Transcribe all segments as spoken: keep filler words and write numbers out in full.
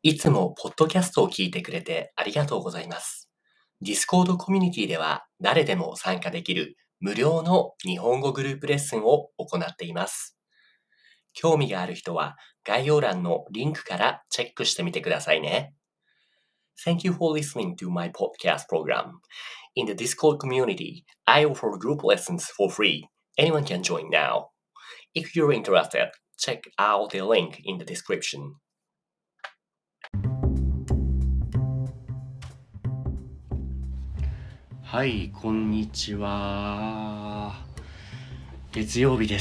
いつもポッドキャストを聞いてくれてありがとうございます。Discord コミュニティでは誰でも参加できる無料の日本語グループレッスンを行っています。興味がある人は概要欄のリンクからチェックしてみてくださいね。Thank you for listening to my podcast program. In the Discord community, I offer group lessons for free. Anyone can join now. If you're interested, check out the link in the description. はい、こんにちは。月曜日です。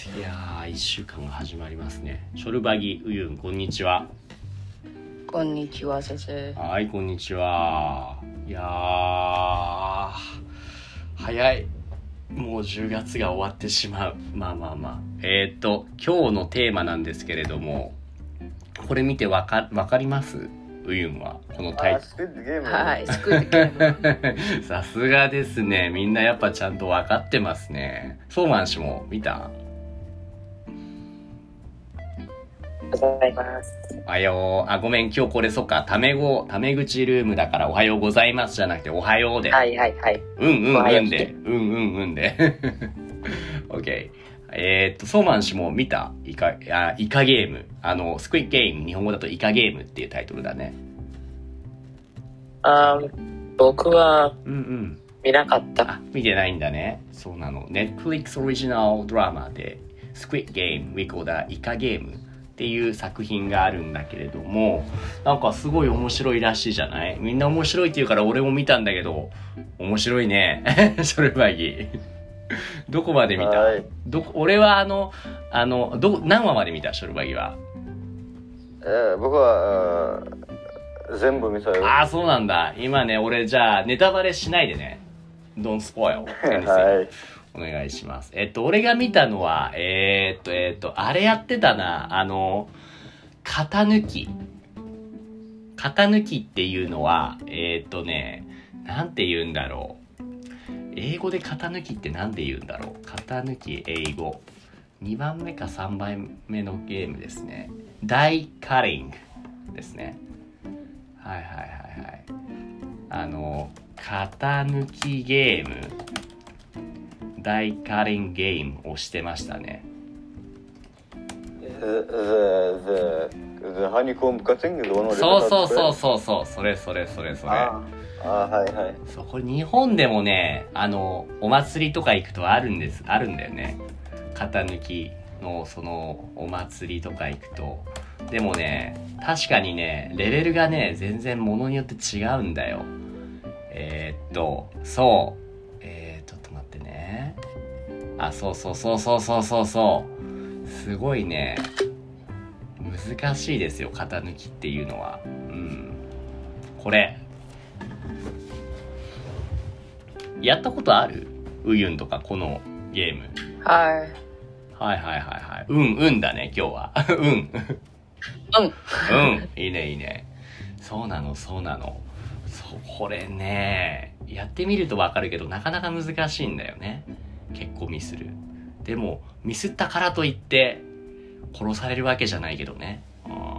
いやー、いっしゅうかんが始まりますね。ショルバギウユン、こんにちは。 こんにちは、先生。 はい、こんにちは。いやー、早い。もうじゅうがつが終わってしまう。まあまあまあ。えーっと、今日のテーマなんですけれども、これ見てわか、わかります？ウユンはこのタイトル。 はい、スクールゲーム。 さすがですね。みんなやっぱちゃんと分かってますね。ソーマン氏も見た？ ございます。 おはよう。あ、ごめん。今日これそっか。タメ語、タメ口ルームだからおはようございますじゃなくておはようで。 はいはいはい。 うんうんうんで。うんうんうんで。OK。えー、っと、ソーマン氏も見たイカ、あ、イカゲーム。あの、スクイッゲーム。日本語だとイカゲームっていうタイトルだね。 あ僕はうんうん見なかった。 あ、見てないんだね。そうなの。Netflix オリジナルドラマで Squid Game We Call the イカゲームっていう作品があるんだけれども、なんかすごい面白いらしいじゃない？みんな面白いって言うから俺も見たんだけど、面白いね。それはいい。どこまで見た？ はいどこ俺はあの、あの、ど、何話まで見た？ショルバギは。 えー、僕は全部見たよ。 ああ、そうなんだ。今ね、俺じゃあネタバレしないでね。Don't spoil anything. はい。 お願いします。えっと、俺が見たのは、えー、っと、えー、っと、あれやってたな。あの、型抜き。型抜きっていうのは、えー、っとね、なんて言うんだろう。英語で型抜きってなんで言うんだろう。型抜き、英語。にばんめかさんばんめのゲームですね。ダイカリングですね。はいはいはいはい。あの、型抜きゲーム、ダイカリングゲームをしてましたね。 The, the, the honeycomb cutting is one of the そうそうそうそうそう、それそれそれそれ。 ああ、はいはい。 そう、これ日本でもね、あの、お祭りとか行くとあるんです、あるんだよね。型抜きのそのお祭りとか行くと。でもね、確かにね、レベルがね、全然ものによって違うんだよ。えー、っと、そう。えー、ちょっと待ってね。あ、そうそうそうそうそうそうそう。すごいね、難しいですよ、型抜きっていうのは。うん。これ。やったことある？ウユンとか、このゲーム。 はい。 はいはいはいはい。うんうんだね、今日は。うん。 うん。 うん。いいねいいね。そうなのそうなの。そう、これね、やってみるとわかるけど、なかなか難しいんだよね。結構ミスる。でも、ミスったからといって、殺されるわけじゃないけどね。うんうん、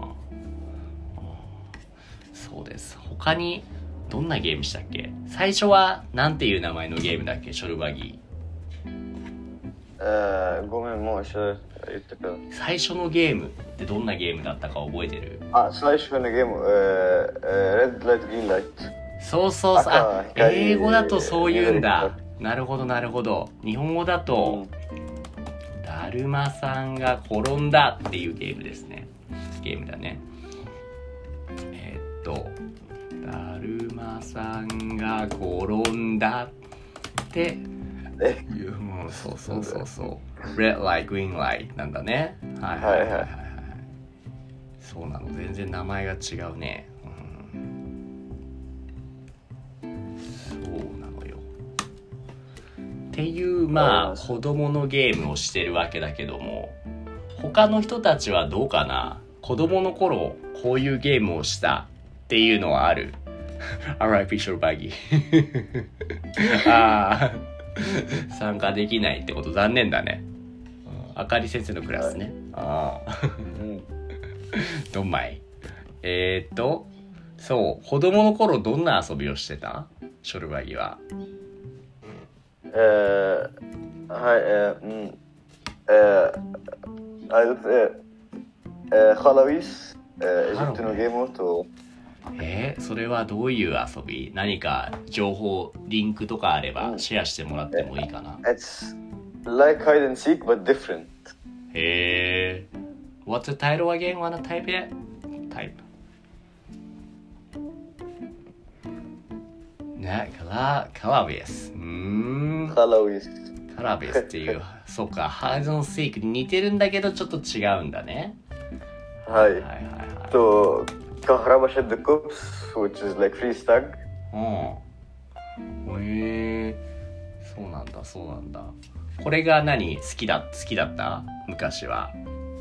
そうです。他に、どんなゲームしたっけ？最初は、なんていう名前のゲームだっけ？ショルバギえー、ごめん、もう一緒言ってください。 最初のゲームってどんなゲームだったか覚えてる？ あ、最初のゲーム、えー、えー、Red Light, Green Light。 そうそうそう。あ、 赤光英語だとそう言うんだ。なるほどなるほど。日本語だと、 うん、 だるまさんが転んだっていうゲームですね。ゲームだね。えー、っと、だるまさんが転んだってえいう、もうそうそうそうそう。Red Light, Green Light なんだね。はいはいはいはい、はい。そうなの。全然名前が違うね。っていうまあ子供のゲームをしてるわけだけども、他の人たちはどうかな？子供の頃こういうゲームをしたっていうのはある？Alright, Fisher Baggy ああ参加できないってこと残念だね。あかり先生のクラスね。ああどんまいえー、っと、そう、子供の頃どんな遊びをしてた？ショルバギは。 えー、はい、えー、うん、えー、あれです、えー、えー、ハラウィス、えー、エジプトのゲームと、 えー、それはどういう遊び？何か情報、リンクとかあればシェアしてもらってもいいかな？ It's like hide and seek but different. へえ。What's the title again? Wanna type it? Type. ね、カラ、カラビス。うーん。 ハラウィス。 カラビスっていう、そうか、ハイドンセイクに似てるんだけどちょっと違うんだね。 はい。 はいはいはい。 と、カハラバシャッドコプス、which is like free stag. うん。へえ。そうなんだ、そうなんだ。これが何？好きだ、好きだった？昔は。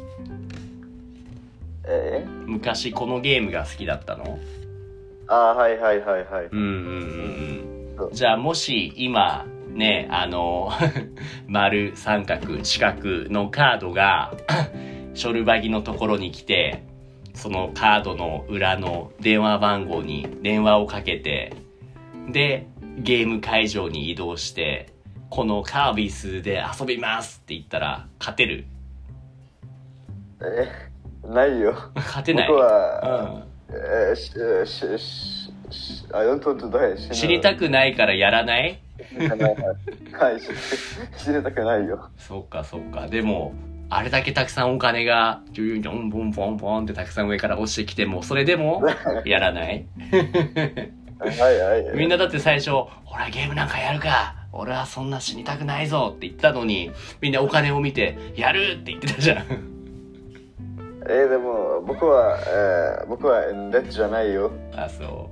え昔このゲームが好きだったの？ ああ、はいはいはいはい。 うんうんうんそううん。じゃあもし今ね、あの丸、三角、四角のカードがショルバギのところに来て、そのカードの裏の電話番号に電話をかけて、でゲーム会場に移動して、このカービスで遊びますって言ったら勝てる？ えないよ。 勝てない？ 僕は、 うんえーしししし I don't want to die. 知りたくないからやらない？ はい、知りたくないよ。 そっかそっか。でもあれだけたくさんお金がジュンジョンボンボンボンってたくさん上から落ちてきても、それでもやらない？ はいはいはい。 みんなだって最初ほらゲームなんかやるか、俺はそんな死にたくないぞって言ったのに、みんなお金を見てやるって言ってたじゃん。 えー、でも僕は、えー、僕はレッドじゃないよ。 あ、そう。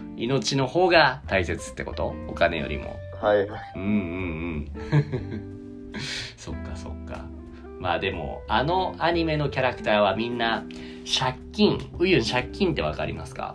命の方が大切ってこと？お金よりも。 はい。 うんうんうん。そっかそっか。まあでもあのアニメのキャラクターはみんな借金。ウユン、借金ってわかりますか？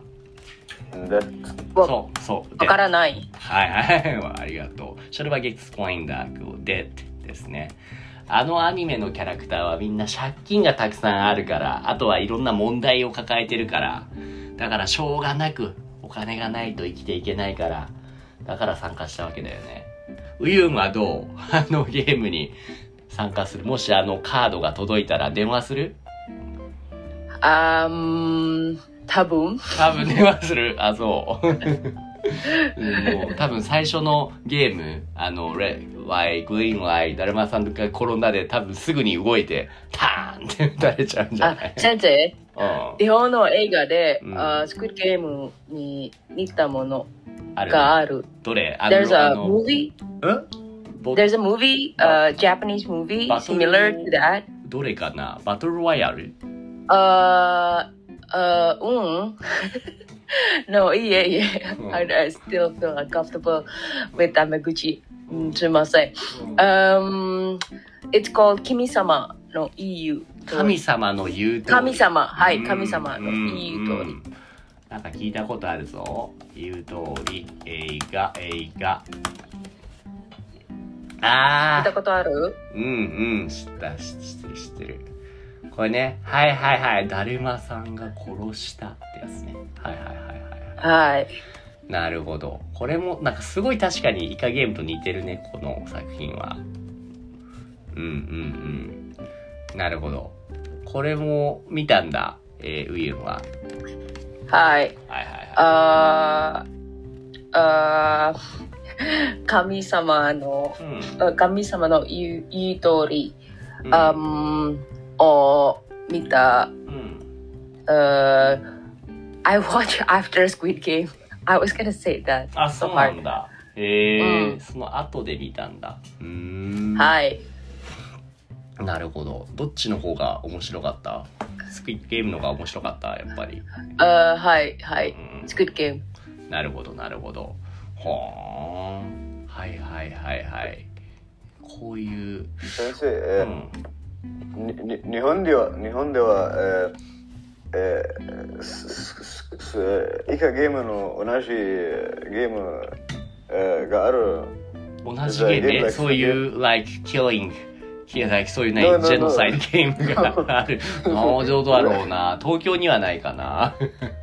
そうそう。 わからない。 はいはい。ありがとう。ショルバギ explain that debt ですね。あのアニメのキャラクターはみんな借金がたくさんあるから、あとはいろんな問題を抱えてるから、だからしょうがなくお金がないと生きていけないから、だから参加したわけだよね。ウユンはどう？あのゲームに参加する？もしあのカードが届いたら電話する？ あーん、多分。 多分電話する。あ、そう。うんもう多分最初のゲーム、あの、レッドライト、グリーンライト、だるまさんが転んだで多分すぐに動いて、ターンって打たれちゃうんじゃあない？、 先生、 うん、 日本の映画で、 うんあスクイッドゲームに似たものあるがある。 どれ？あの There's あ a の movie. んボ There's a movie, a Japanese movie バトル similar to that. どれかな？バトルロワイヤル？ Uh, uh, うん。No, いえいえ。 うん I, I still feel uncomfortable with Tamaguchi. うん、すいません。Um, it's called 君様の言う通り。 神様の言う通り。 神様。はい、 うん神様の言う通り。 んなんか聞いたことあるぞ。言う通り。映画、映画。あー。 聞いたことある？ うんうん。知った、知ってる、知ってる。これね。はいはいはい。だるまさんが殺したってやつね。はいはいはいはい。 はい。 なるほど。これも、なんかすごい確かにイカゲームと似てるね、この作品は。うんうんうん。なるほど。これも見たんだ、えー、ウユンは。 はい。 はいはいはい。 あー、あー、神様の、 うん。 神様の言う言う通り、 うん。 あん、を見た。 うん。 Uh, I watched after Squid Game. I was gonna say that. あ、 So そうなん hard. だ。へえーうんその後で見たんだ。うーん。 はい。 なるほど。どっちの方が面白かった？スクイッドゲームの方が面白かったやっぱり。 Uh, はい、はい。 うん Squid Game. なるほどなるほど。はーん。はいはいはいはい。こういう。 先生、 うえん。 ーにに日本では、日本では、えーえー、すすすイカゲームの同じゲーム、えー、がある。 同じゲームね。そういう、like, killing, いや、like そういうね、 No, no, no. ジェノサイドゲームがある。農場だろうな。東京にはないかな。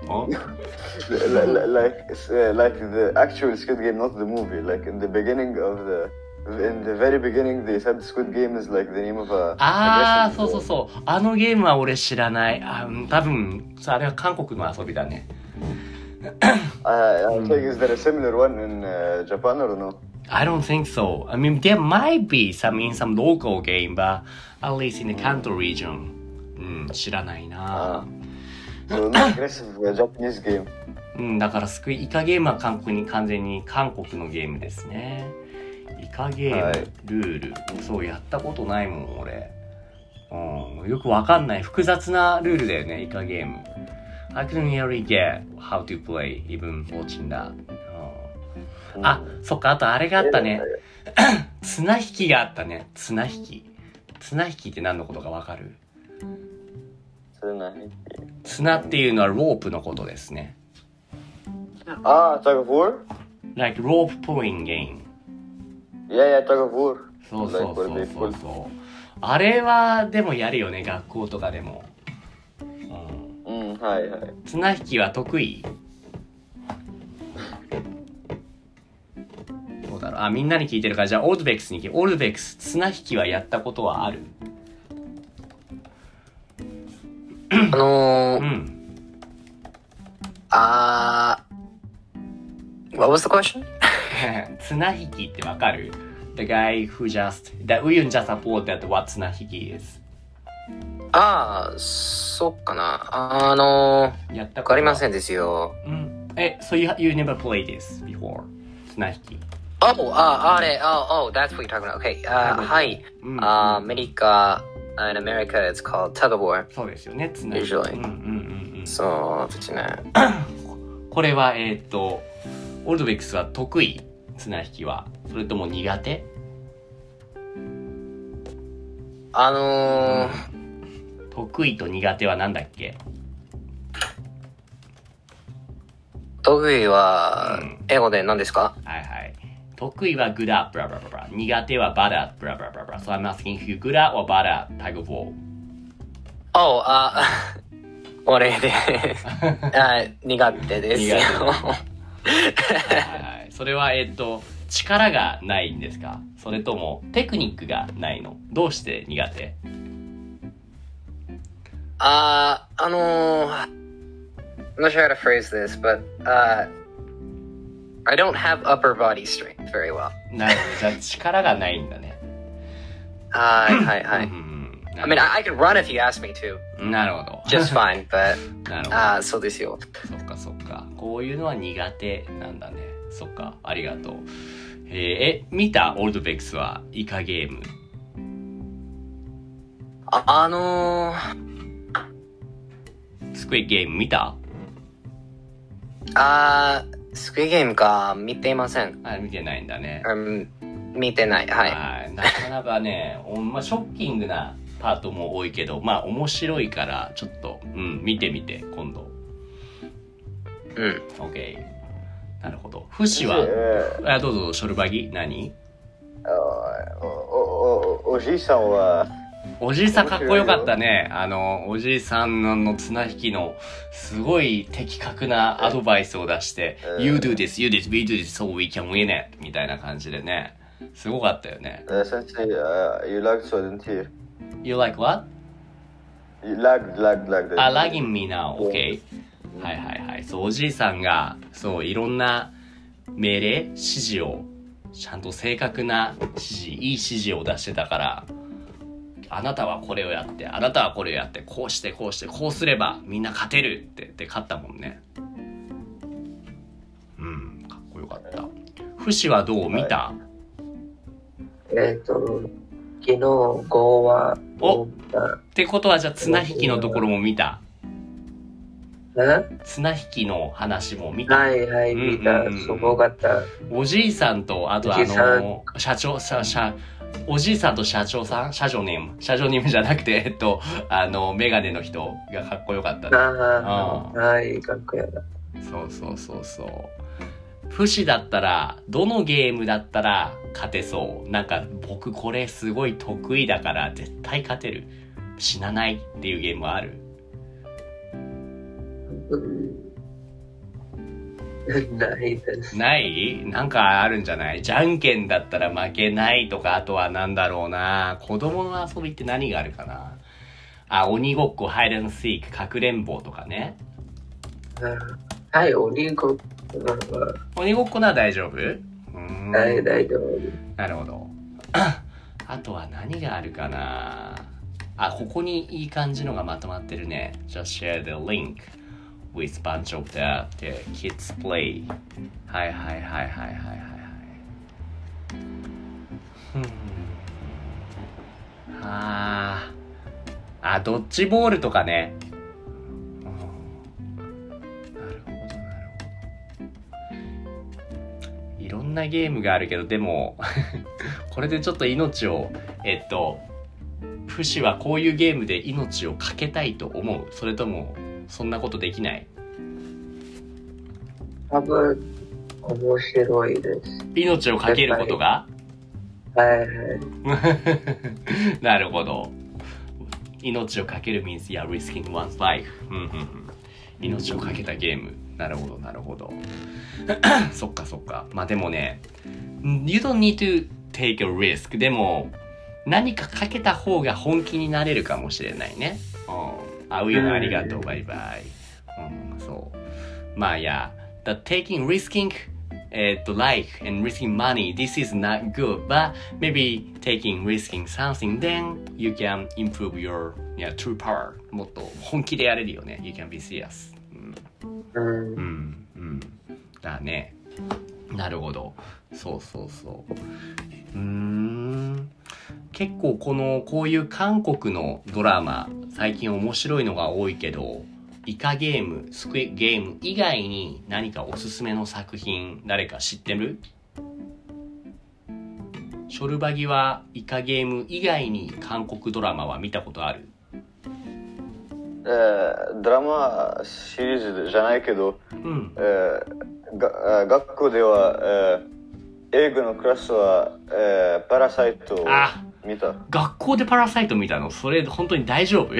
like uh, like the actual Squid Game, not the movie. Like in the beginning of the in the very beginning, they said Squid Game is like the name of a. ああ、そうそうそう。あのゲームは俺知らない。あ、多分、あれは韓国の遊びだね。 I, I'm saying, is there a similar one in uh, Japan or no? I don't think so. I mean, there might be some in some local game, but at least in the Kanto region. うん、知らないな。 So an aggressive uh, Japanese game. うん、だからスクイイカゲームは韓国に完全に韓国のゲームですね。イカゲーム、 はいルール、そうやったことないもん俺。うん、よくわかんない複雑なルールだよねイカゲーム。I couldn't really get how to play even watching that. うん、あ、そっかあとあれがあったね。綱引きがあったね。綱引き。綱引きって何のことかわかる？綱っていうのはロープのことですね。 Ah, tug of war? Like rope pulling game. Yeah, yeah, tug of war. そうそうそうそうそう。あれはでもやるよね、学校とかでも。 うん、うん、はいはい。 綱引きは得意？どうだろう。あ、みんなに聞いてるから、じゃあオールドベックスに聞いて。オールドベックス、綱引きはやったことはある？ あのー、 うん。 あー、What was the question? 綱引きってわかる？ The guy who just, that we just support that what 綱引き is. あー、そっかな。あのー、 やったことわかりませんですよ。 うん。え、so you, you never played this before? 綱引き。 Oh, あ、あれ、oh, oh, that's what you're talking about. Okay, あ、はい。 うん、 あ、アメリカ、in America it's called tug of war. そうですよね、綱引き。 Usually. うんうんうんうん。 そうですね。 これは、えっと、オールドベックスは得意？綱引きは。それとも苦手？ あのー、 得意と苦手はなんだっけ？ 得意はうん英語で何ですか？ はいはい。得意は good at, blah blah blah blah. 苦手は bad at, blah blah blah blah. So I'm asking if you good at or bad at tug of war. Oh, あ、俺ですあ、苦手ですよ。 苦手はいはい。それは、えっと、力がないんですか？それともテクニックがないの？どうして苦手？ あ、あのー、I'm not sure how to phrase this, but uh, I don't have upper body strength very well. なるほど。じゃあ力がないんだね。 はいはいはい。 うんうんうん、 I mean, I, I can run if you ask me to. なるほど。 Just fine, but なるほど。 あー、そうですよ。 そっかそっか。こういうのは苦手なんだね。そっか。ありがとう。えー、え、見たオールドベックスはイカゲーム。 あ、あのー、 スクイッゲーム見た？ あー、スクイゲームか、見ていません。 あ、見てないんだね。 うん、見てない。はい。 はい。なかなかね、おまあ、ショッキングなパートも多いけど、まあ面白いからちょっと、うん、見てみて、今度。 うん。 OK。なるほど。フシは、あ、どうぞ、ショルバギ、何？ お、お、お、おじいさんは、 おじいさんかっこよかったね。あの、おじいさんの綱引きのすごい的確なアドバイスを出して、You do this, you do this, we do this, so we can win it みたいな感じでね。すごかったよね。 uh, Sensei, uh, you lagged so I didn't hear. You like what? You lagged, lagged, lagged. あ、lagging me now, OK。はいはいはい。そう、おじいさんが、そう、いろんな命令、指示を、ちゃんと正確な指示、いい指示を出してたから、あなたはこれをやって、あなたはこれをやって、こうしてこうしてこうすればみんな勝てるって言って勝ったもんね。うん、かっこよかった。フシはどう見た？ えっと、昨日ごわおってことはじゃあ綱引きのところも見た？ え綱引きの話も見た？ はいはい、見た。すごかった。 おじいさんと、あとあの、社長、社、社、おじいさんと社長さん社長ネーム社長ネームじゃなくて、えっと、あの、メガネの人がかっこよかったね。 ああ、はい、かっこよかった。 そうそうそうそう。 不死だったら、どのゲームだったら勝てそう。なんか僕これすごい得意だから絶対勝てる。死なないっていうゲームはある？ ないです。 ない？なんかあるんじゃない？じゃんけんだったら負けないとか、あとはなんだろうな。子供の遊びって何があるかな。あ、鬼ごっこ、ハイドンシーク、かくれんぼとかね。 はい、鬼ごっこ。 鬼ごっこなら大丈夫？うーん。 はい、大丈夫。 なるほど。あとは何があるかな。あ、ここにいい感じのがまとまってるね。Just share the link with bunch of the, the kids play. はいはいはいはいはいはいはい。ふん。あー。あ、ドッジボールとかね。うん、なるほどなるほど。いろんなゲームがあるけど、でもこれでちょっと命を、えっと、フシはこういうゲームで命をかけたいと思う？それともそんなことできない？ 多分面白いです。 命をかけることが？ はいはい。 なるほど。命をかける means you're risking one's life. 命をかけたゲーム。なるほどなるほど。そっかそっか。まあでもね、You don't need to take a risk. でも何かかけた方が本気になれるかもしれないね。うん。あういうのありがとう。バイバイ。うん、そう。まあいや、the taking, risking, えっと、life and risking money, this is not good, but maybe taking, risking something, then you can improve your, yeah, true power. もっと本気でやれるよね。You can be serious. うん。うん。うん。だね。なるほど。そうそうそう。うーん。結構このこういう韓国のドラマ最近面白いのが多いけど、イカゲーム、スクイッドゲーム以外に何かおすすめの作品誰か知ってる？ショルバギはイカゲーム以外に韓国ドラマは見たことある？ えー、ドラマシリーズじゃないけど、うん、えー、が学校では、えー、英語のクラスは、えー、パラサイトを見た。 学校でパラサイト見たの？それ本当に大丈夫？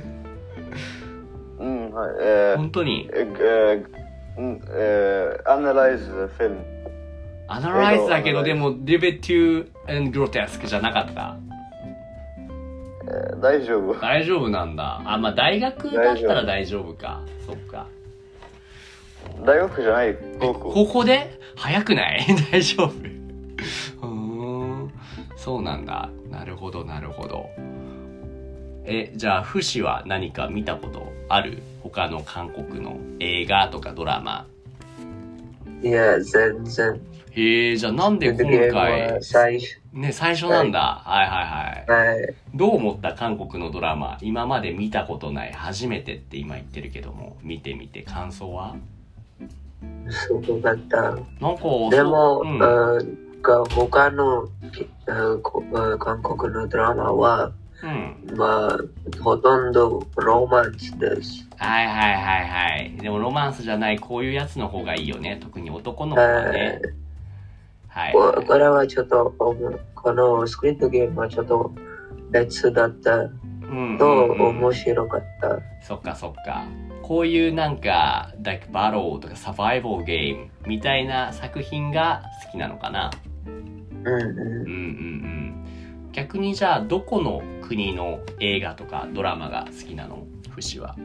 うん、はい。えー、 本当に？ えー、えー、アナライズフィルム。 アナライズだけど、でも、リベテュー and grotesque じゃなかった？ えー、大丈夫。 大丈夫なんだ。あ、まあ大学だったら大丈夫か。そっか。 大学じゃない、高校。 高校で？早くない？大丈夫。うーん。そうなんだ。なるほど、なるほど。え、じゃあ、フシは何か見たことある？他の韓国の映画とかドラマ。 いや、全然。 へえ、じゃあなんで今回、 最初。 ね、最初なんだ。はい、はいはいはい。 はい。 どう思った？韓国のドラマ。今まで見たことない。初めてって今言ってるけども、見てみて感想は？ すごかった。なんか、 でも、うん、他の韓国のドラマは、うん、まあ、ほとんどロマンスです。 はいはいはいはい。でもロマンスじゃないこういうやつの方がいいよね。特に男の子はね。 はい。はい、これはちょっと、このスクリートゲームはちょっと別だったと面白かった。うんうんうん、 そっかそっか。こういうなんか、like battle とかサバイバルゲームみたいな作品が好きなのかな。 うんうん。うんうんうん。 逆にじゃあどこの国の映画とかドラマが好きなの？フシは。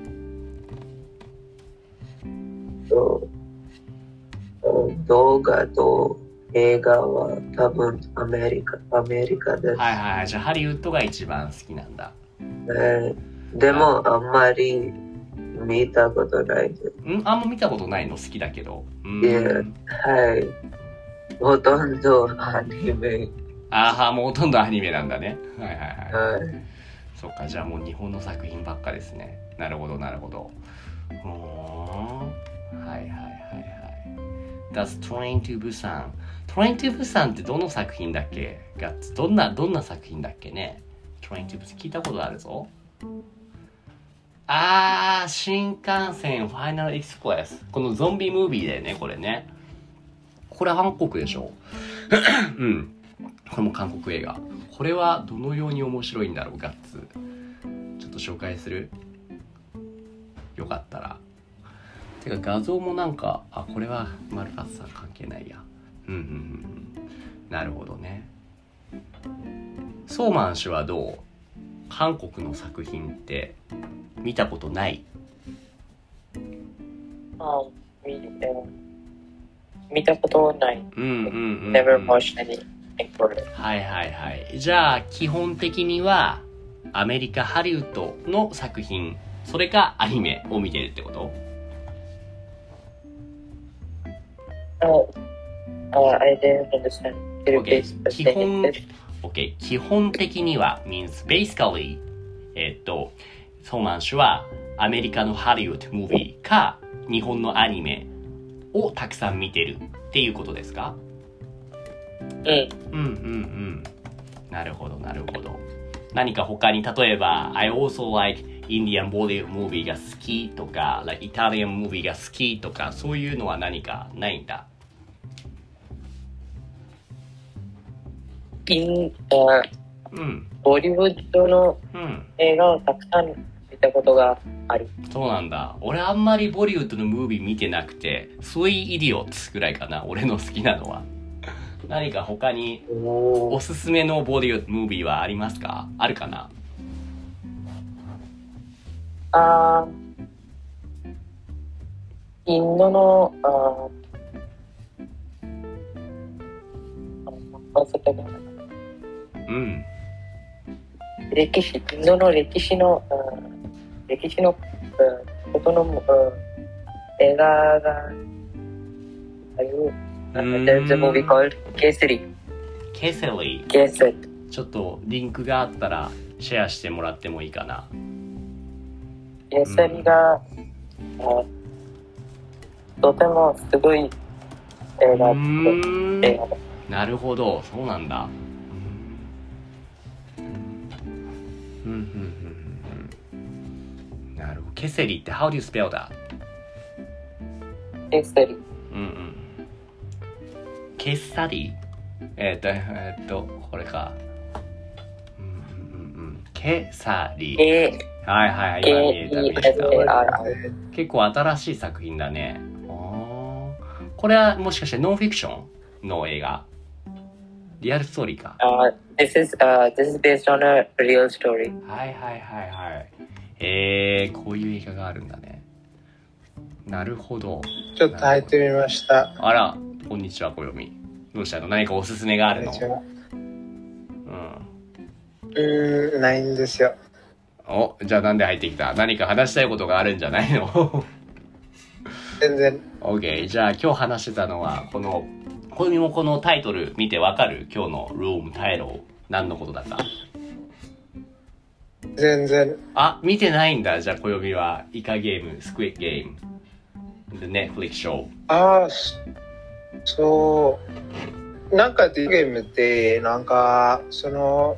動画と映画は多分アメリカ、アメリカです。 はいはい。じゃあハリウッドが一番好きなんだ。 えー、でもあんまり見たことないです。 ん？あんま見たことないの？好きだけど。 うん。はい。ほとんどアニメ。 ああ、もうほとんどアニメなんだね。はいはいはい。 はい、 そっか、じゃあもう日本の作品ばっかですね。なるほどなるほど。うーん。はいはいはいはい。That's Train to Busan。Train to Busan ってどの作品だっけ？ガッツ。どんな、どんな作品だっけね？ Train to Busan 聞いたことあるぞ。あー、新幹線ファイナルエクスプレス。このゾンビムービーだよね、これね。 これ韓国でしょうん。これも韓国映画。これはどのように面白いんだろう、ガッツ。ちょっと紹介する？よかったら。てか画像もなんか、あ、これはマルカスさん関係ないや。うんうんうん。なるほどね。ソーマン氏はどう？韓国の作品って見たことない？ あ、見て見たことない。 うんうんうん、うん。 Never watched anything for it. はいはいはい。じゃあ基本的にはアメリカハリウッドの作品、それかアニメを見てるってこと？ Oh, uh, I didn't understand. Okay. 基本 OK 基本的には means basically えっとソーマン氏はアメリカのハリウッドムービーか日本のアニメをたくさん見てるっていうことですか？ うん。うんうんうんうん。なるほどなるほど。何か他に例えば I also like Indian Bollywood movie が好きとか like Italian movie が好きとかそういうのは何かないんだ？ イン、うん、ボリウッドの映画をたくさん見たことがある。 そうなんだ。俺あんまりボリウッドのムービー見てなくて、スイイディオッツぐらいかな、俺の好きなのは。何か他におすすめのボリウッドムービーはありますか？あるかな？ あー、インドの、あー、忘れたかな。 うん、 歴史、インドの歴史の、歴史のことの映画がある。There's a movie called Kesari. Kesari. Kesari. ちょっとリンクがあったらシェアしてもらってもいいかな。 Kesari が、うん、とてもすごい映画で。 なるほど、そうなんだ。うんうんうんうん。なるほど。ケセリって How do you spell that? ケセリ。 うんうん。ケッサリえっ、ー、とえっ、ー、とこれか。うんうんうん。ケサリ。 えー、はいはい今見えた見えた。結構新しい作品だね。あこれはもしかしてノンフィクションの映画？リアルストーリーか。 Uh, this is, uh, this is based on a real story. はいはいはいはい。えー、こういう映画があるんだね。なるほど。 ちょっと入ってみました。 あら、こんにちは、小読。どうしたの？何かおすすめがあるの？ うん。うーん、ないんですよ。 お、じゃあなんで入ってきた？何か話したいことがあるんじゃないの？ 全然。 OK。じゃあ今日話してたのは、この、これもこのタイトル見てわかる？今日のルームタイトル何のことだか？ 全然。 あ、見てないんだ。じゃあ小読みはイカゲーム、スクイッドゲーム、The Netflix show。 ああ、そう。なんかゲームってなんかその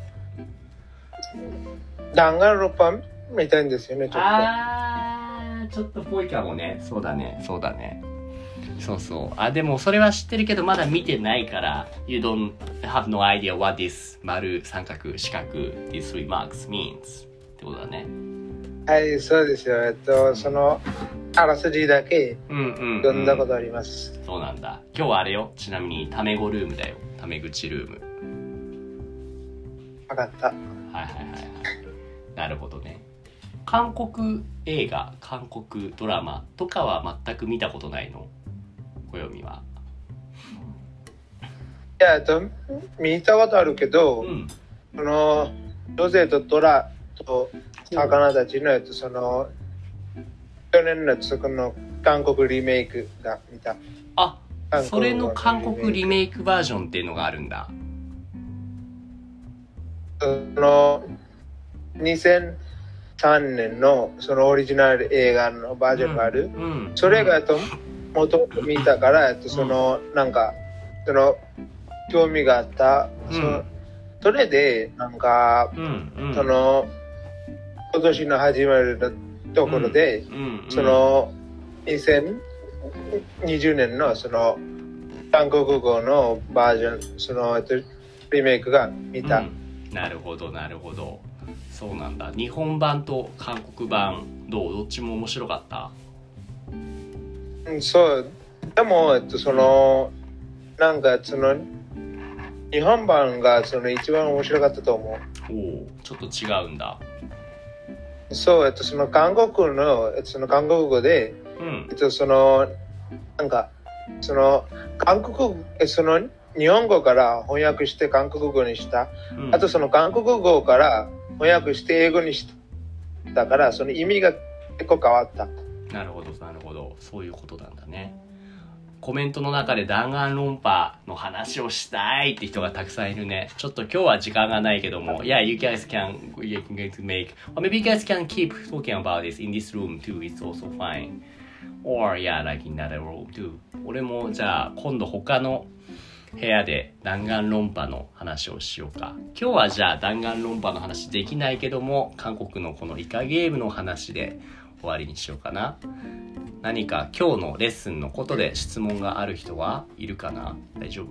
弾丸論破みたいんですよね。ちょっと。 ああ、ちょっとぽいかもね。そうだね、そうだね。そうそう。あ、でもそれは知ってるけどまだ見てないから You don't have no idea what this 丸、三角、四角 these three marks means ってことだね。 はい、そうですよ。えっと、そのあらすじだけ読んだことあります、 うんうんうん、そうなんだ。今日はあれよ。ちなみにタメ語ルームだよ。タメ口ルーム。 分かった。はいはいはいはい。なるほどね。韓国映画、韓国ドラマとかは全く見たことないの？小読みは。 いや、えっと、見たことあるけど、うん、そのロゼとトラと魚たちのやつ、その去年のやつ、この韓国リメイクが見た。 あ、それの韓国リメイクバージョンっていうのがあるんだ。 そのにせんさんねんのそのオリジナル映画のバージョンがある。うんうん、それがともともと見たから、そのなんかその興味があった。うん、そ, それでなんか、うんうん、その今年の始まるところで、うんうんうん、そのにせんにじゅうねんのその韓国語のバージョン、そのリメイクが見た、うん、 なるほどなるほど、そうなんだ。日本版と韓国版どう？どっちも面白かった？ うん、そうでも、えっと、そのなんかその日本版がその一番面白かったと思う。 おお、ちょっと違うんだ。 そう、えっと、その韓国の、えっと、その韓国語で、うん、えっと、そのなんかその韓国その日本語から翻訳して韓国語にした、うん、あとその韓国語から翻訳して英語にしたから、その意味が結構変わった。 なるほどなるほど、そういうことなんだね。コメントの中で弾丸論破の話をしたいって人がたくさんいるね。ちょっと今日は時間がないけども、Yeah, you guys can, you can make, or maybe you guys can keep talking about this in this room too, it's also fine. Or yeah, like in another room too. 俺もじゃあ今度他の部屋で弾丸論破の話をしようか。今日はじゃあ弾丸論破の話できないけども、韓国のこのイカゲームの話で終わりにしようかな。何か今日のレッスンのことで質問がある人はいるかな？大丈夫？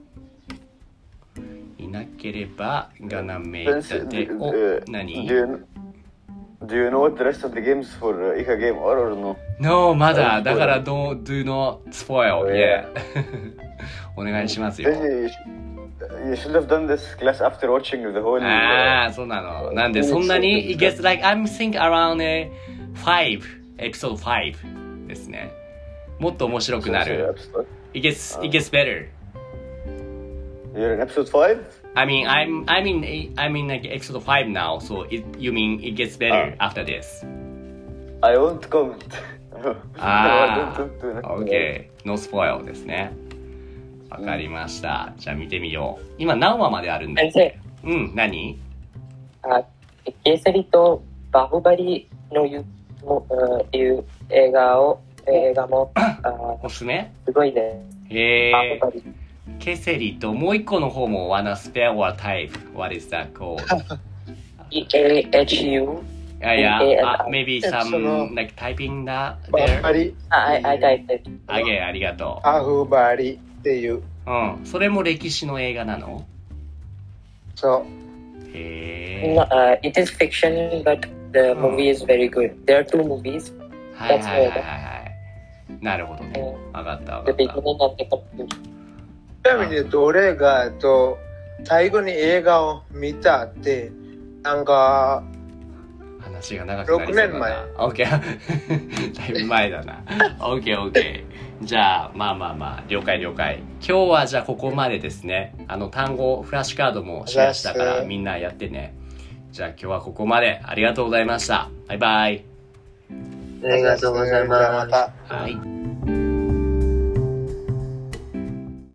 いなければガナメイタで、お、何？ Do you, do you know what the rest of the games for Ika game are or no? No, まだ。だから don't, do not spoil. Yeah. お願いしますよ。 You should have done this class after watching the whole. ああ、そうなの。なんでそんなに It gets like I'm think around five, episode five ですね。もっと面白くなる。It gets it gets better. You're in episode five? I mean, I'm I'm in I'm in like episode five now. So it you mean it gets better after this? I won't comment. ああ、OK。No spoil ですね。わかりました。じゃあ見てみよう。今何話まであるんだっけ？うん、何？ あ、ケーサリとバフバリのいういう映画を映画もおすすめ？ すごいね。 へえ。ケセリともう一個の方も wanna spare or type. What is that called? E A H U. Yeah, yeah. Uh, maybe some like typing that there. バリ。 I I typed it. あげありがとう。 バフバリっていう。 うん。それも歴史の映画なの？ そう。 へえ。 No, uh, it is fiction, but the movie is very good. There are two movies. はいはいはいはい。なるほどね。わかったわかった。 The beginning and the conclusion. ちなみに俺がと最後に映画を見たってなんか話が長くなりそうだな。ろくねんまえ。オッケー。だいぶ前だな。オッケーオッケー。じゃあまあまあまあ了解了解。今日はじゃあここまでですね。あの単語フラッシュカードもシェアしたからみんなやってね。じゃあ今日はここまで。ありがとうございました。バイバイ。 ありがとうございます。 はい。